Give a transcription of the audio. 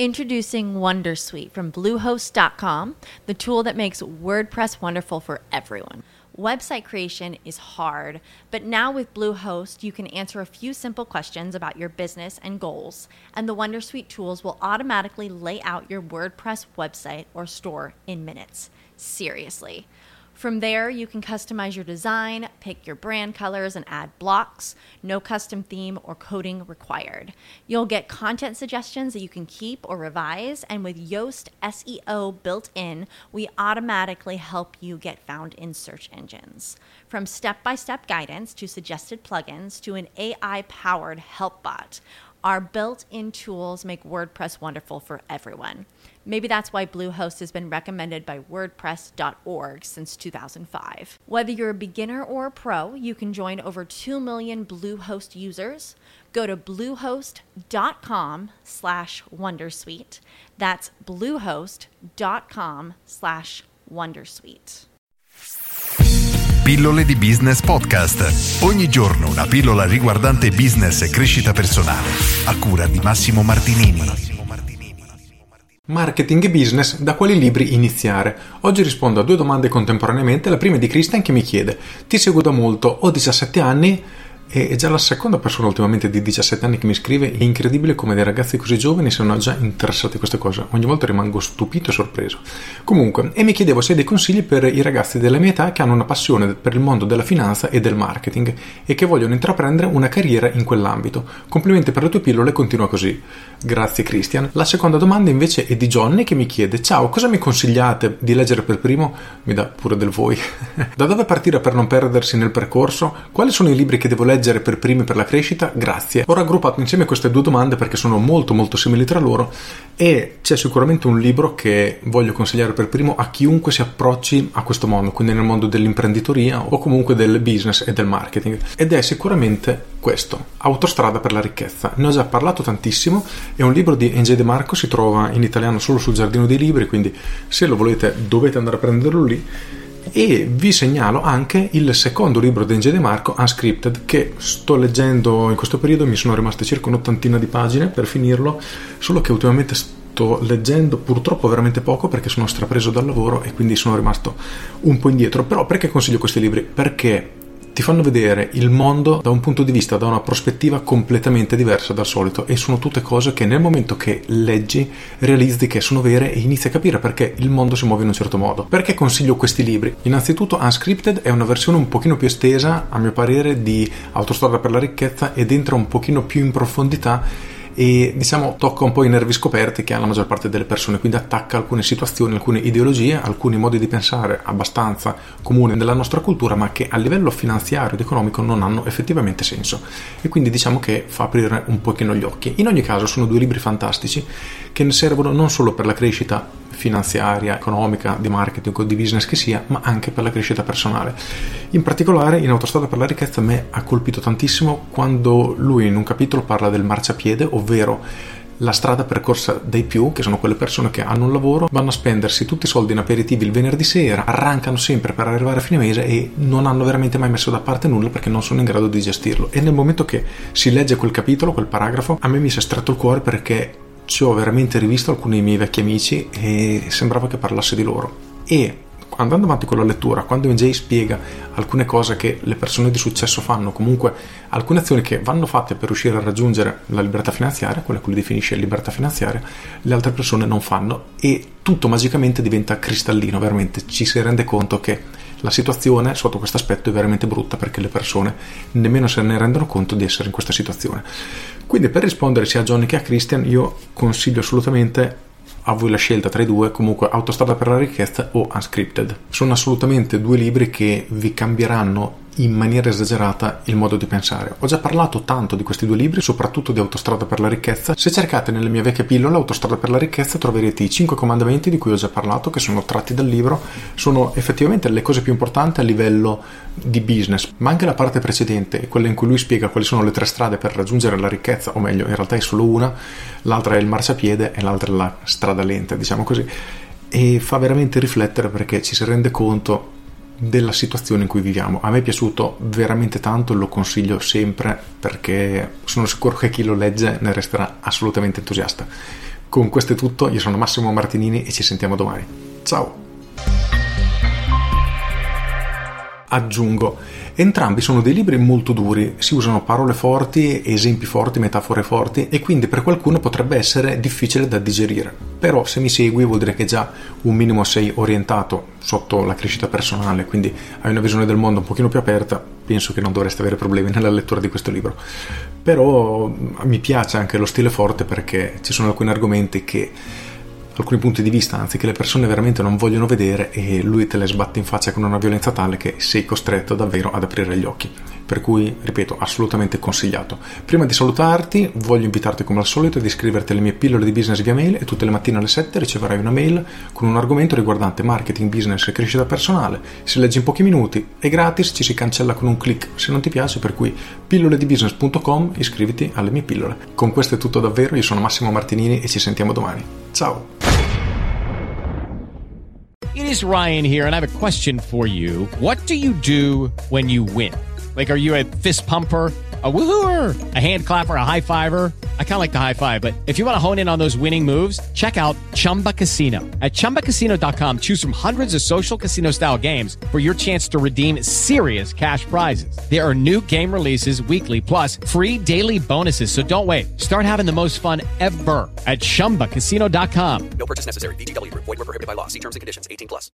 Introducing Wondersuite from Bluehost.com, the tool that makes WordPress wonderful for everyone. Website creation is hard, but now with Bluehost, you can answer a few simple questions about your business and goals, and the Wondersuite tools will automatically lay out your WordPress website or store in minutes. Seriously. From there, you can customize your design, pick your brand colors, and add blocks. No custom theme or coding required. You'll get content suggestions that you can keep or revise, and with Yoast SEO built in, we automatically help you get found in search engines. From step-by-step guidance to suggested plugins to an AI-powered help bot, our built-in tools make WordPress wonderful for everyone. Maybe that's why Bluehost has been recommended by WordPress.org since 2005. Whether you're a beginner or a pro, you can join over 2 million Bluehost users. Go to bluehost.com/wondersuite. That's bluehost.com/wondersuite. Pillole di Business Podcast. Ogni giorno una pillola riguardante business e crescita personale. A cura di Massimo Martinini. Marketing e business, da quali libri iniziare? Oggi rispondo a 2 domande contemporaneamente. La prima è di Christian che mi chiede: ti seguo da molto, ho 17 anni e è già la seconda persona ultimamente di 17 anni che mi scrive. È incredibile come dei ragazzi così giovani siano già interessati a queste cose. Ogni volta rimango stupito e sorpreso. Comunque, e mi chiedevo se hai dei consigli per i ragazzi della mia età che hanno una passione per il mondo della finanza e del marketing e che vogliono intraprendere una carriera in quell'ambito. Complimenti per le tue pillole, continua così. Grazie Christian. La seconda domanda invece è di Johnny che mi chiede: ciao, cosa mi consigliate di leggere per primo? Mi dà pure del voi. Da dove partire per non perdersi nel percorso? Quali sono i libri che devo leggere per primi per la crescita? Grazie. Ho raggruppato insieme queste 2 domande perché sono molto simili tra loro e c'è sicuramente un libro che voglio consigliare per primo a chiunque si approcci a questo mondo, quindi nel mondo dell'imprenditoria o comunque del business e del marketing, ed è sicuramente questo: Autostrada per la ricchezza. Ne ho già parlato tantissimo, è un libro di NJ De Marco, si trova in italiano solo sul Giardino dei Libri, quindi se lo volete dovete andare a prenderlo lì. E vi segnalo anche il secondo libro di NJ De Marco, Unscripted, che sto leggendo in questo periodo. Mi sono rimaste circa un'ottantina di pagine per finirlo, solo che ultimamente sto leggendo purtroppo veramente poco perché sono strapreso dal lavoro e quindi sono rimasto un po' indietro. Però perché consiglio questi libri? Perché ti fanno vedere il mondo da un punto di vista, da una prospettiva completamente diversa dal solito, e sono tutte cose che nel momento che leggi realizzi che sono vere e inizi a capire perché il mondo si muove in un certo modo. Perché consiglio questi libri? Innanzitutto Unscripted è una versione un pochino più estesa, a mio parere, di Autostrada per la ricchezza ed entra un pochino più in profondità e diciamo tocca un po' i nervi scoperti che ha la maggior parte delle persone, quindi attacca alcune situazioni, alcune ideologie, alcuni modi di pensare abbastanza comuni nella nostra cultura ma che a livello finanziario ed economico non hanno effettivamente senso, e quindi diciamo che fa aprire un pochino gli occhi. In ogni caso sono 2 libri fantastici che ne servono non solo per la crescita finanziaria, economica, di marketing o di business che sia, ma anche per la crescita personale. In particolare in Autostrada per la ricchezza a me ha colpito tantissimo quando lui in un capitolo parla del marciapiede, ovvero la strada percorsa dai più, che sono quelle persone che hanno un lavoro, vanno a spendersi tutti i soldi in aperitivi il venerdì sera, arrancano sempre per arrivare a fine mese e non hanno veramente mai messo da parte nulla perché non sono in grado di gestirlo. E nel momento che si legge quel capitolo, quel paragrafo, a me mi si è stretto il cuore perché ci ho veramente rivisto alcuni dei miei vecchi amici e sembrava che parlasse di loro. E andando avanti con la lettura, quando NJ spiega alcune cose che le persone di successo fanno, comunque alcune azioni che vanno fatte per riuscire a raggiungere la libertà finanziaria, quella che lui definisce libertà finanziaria, le altre persone non fanno, e tutto magicamente diventa cristallino. Veramente ci si rende conto che la situazione sotto questo aspetto è veramente brutta perché le persone nemmeno se ne rendono conto di essere in questa situazione. Quindi per rispondere sia a Johnny che a Christian, io consiglio assolutamente a voi la scelta tra i 2, comunque Autostrada per la ricchezza o Unscripted. Sono assolutamente 2 libri che vi cambieranno in maniera esagerata il modo di pensare. Ho già parlato tanto di questi 2 libri, soprattutto di Autostrada per la ricchezza. Se cercate nelle mie vecchie pillole Autostrada per la ricchezza troverete i 5 comandamenti di cui ho già parlato, che sono tratti dal libro. Sono effettivamente le cose più importanti a livello di business, ma anche la parte precedente, quella in cui lui spiega quali sono le 3 strade per raggiungere la ricchezza, o meglio in realtà è solo una, l'altra è il marciapiede e l'altra è la strada lenta, diciamo così, e fa veramente riflettere perché ci si rende conto della situazione in cui viviamo. A me è piaciuto veramente tanto, lo consiglio sempre perché sono sicuro che chi lo legge ne resterà assolutamente entusiasta. Con questo è tutto, io sono Massimo Martinini e ci sentiamo domani. Ciao! Aggiungo, entrambi sono dei libri molto duri, si usano parole forti, esempi forti, metafore forti e quindi per qualcuno potrebbe essere difficile da digerire. Però se mi segui vuol dire che già un minimo sei orientato sotto la crescita personale, quindi hai una visione del mondo un pochino più aperta, penso che non dovresti avere problemi nella lettura di questo libro. Però mi piace anche lo stile forte perché ci sono alcuni argomenti che alcuni punti di vista, anzi, che le persone veramente non vogliono vedere e lui te le sbatte in faccia con una violenza tale che sei costretto davvero ad aprire gli occhi. Per cui, ripeto, assolutamente consigliato. Prima di salutarti, voglio invitarti come al solito ad iscriverti alle mie pillole di business via mail e tutte le mattine alle 7 riceverai una mail con un argomento riguardante marketing, business e crescita personale. Si legge in pochi minuti, è gratis, ci si cancella con un click se non ti piace, per cui pilloledibusiness.com, iscriviti alle mie pillole. Con questo è tutto davvero, io sono Massimo Martinini e ci sentiamo domani. Ciao! It is Ryan here, and I have a question for you. What do you do when you win? Like, are you a fist pumper, a woohooer, a hand clapper, a high fiver? I kind of like the high five, but if you want to hone in on those winning moves, check out Chumba Casino. At ChumbaCasino.com, choose from hundreds of social casino-style games for your chance to redeem serious cash prizes. There are new game releases weekly, plus free daily bonuses, so don't wait. Start having the most fun ever at ChumbaCasino.com. No purchase necessary. VGW Group. Void where prohibited by law. See terms and conditions. 18+.